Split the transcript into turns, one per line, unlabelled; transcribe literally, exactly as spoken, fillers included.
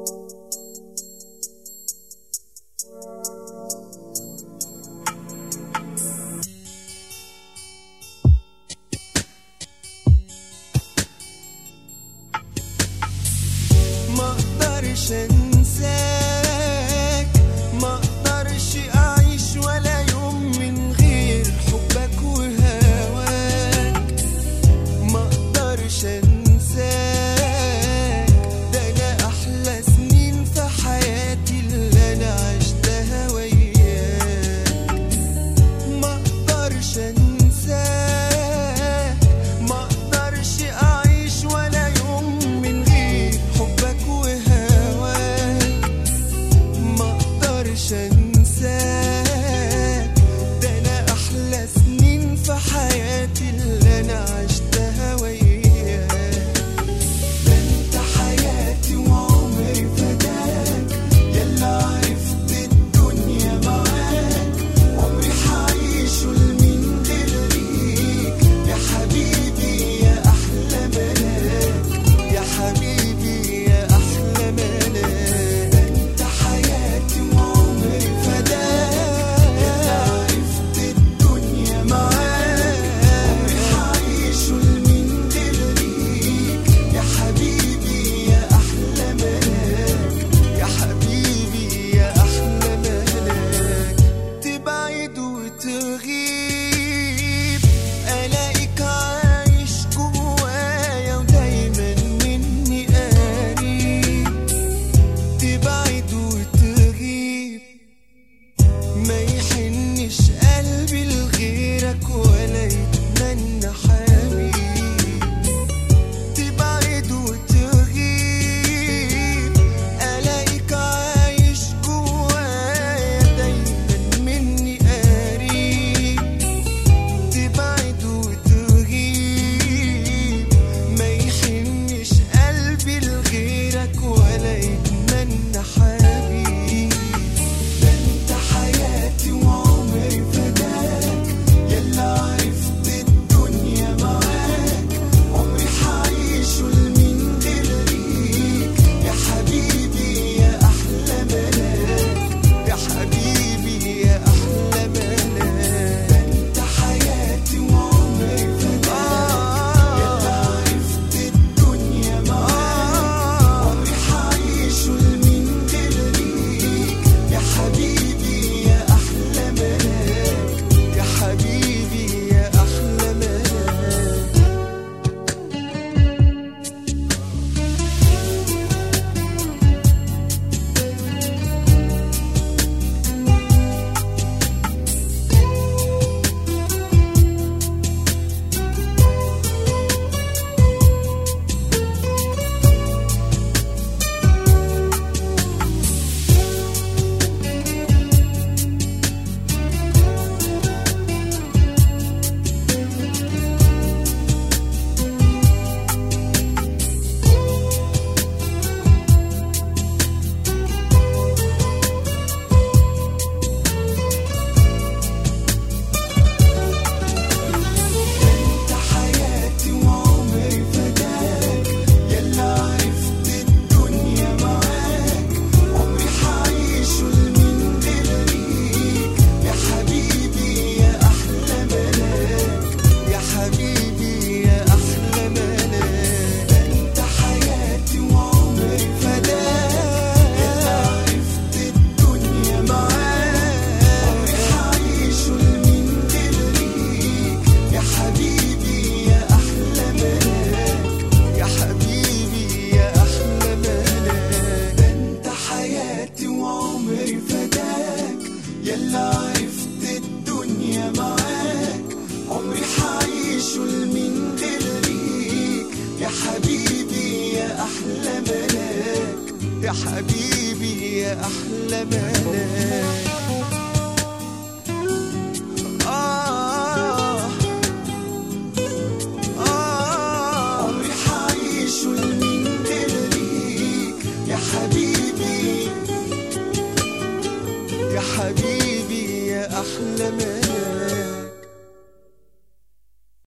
مقدرش انساك، مقدرش اعيش ولا يوم من غير حبك وهواك. مقدرش انساك، ده انا احلى سنين في حياتي اللي انا عشتها وياك. مقدرش انساك، مقدرش اعيش ولا يوم من غير حبك وهواك. مقدرش انساك، ده انا احلى سنين في حياتي اللي انا عشتها وياك. ده انت حياتي وعمري فداك، يلا عرفت الدنيا معاك. عمري حعيشه لمين غير ليك، يا حبيبي يا احلى ملاك، يا حبيبي يا احلى ملاك. ده انت حياتي وعمري فداك، يلا عرفت الدنيا معاك. عمري حعيشه لمين غير ليك، يا حبيبي يا احلى ملاك، يا حبيبي يا احلى ملاك. تبعد وتغيب الاقيك عايش جوايا ودايما مني قريب. تبعد وتغيب ما يحنش قلبي لغيرك ولا يتمنى حبيب. تبعد وتغيب الاقيك عايش جوايا دايما مني قريب. تبعد وتغيب ما يحنش قلبي لغيرك ولا يتمنى حبيب. ده انت حياتي وعمري فداك، يلا عرفت الدنيا معاك. عمري حعيشه لمين غير ليك، يا حبيبي يا احلى ملاك، يا حبيبي يا احلى ملاك. ده انت حياتي وعمري فداك، يلا عرفت الدنيا معاك. عمري حعيشه لمين غير ليك، يا حبيبي يا احلى ملاك، يا حبيبي يا احلى ملاك. انت حياتي وعمري فداك، يلا عرفت الدنيا معاك. عمري حعيشه لمين غير ليك، يا حبيبي يا احلى ملاك، يا حبيبي يا احلى ملاك. انت حياتي وعمري فداك، يلا عرفت الدنيا معاك. عمري حعيشه لمين غير ليك، يا حبيبي يا احلى ملاك، يا حبيبي يا احلى ملاك. ده انت حياتي وعمري فداك، يلا عرفت الدنيا معاك. عمري حعيشه لمين غير ليك، يا حبيبي يا احلى ملاك، يا حبيبي يا احلى ملاك.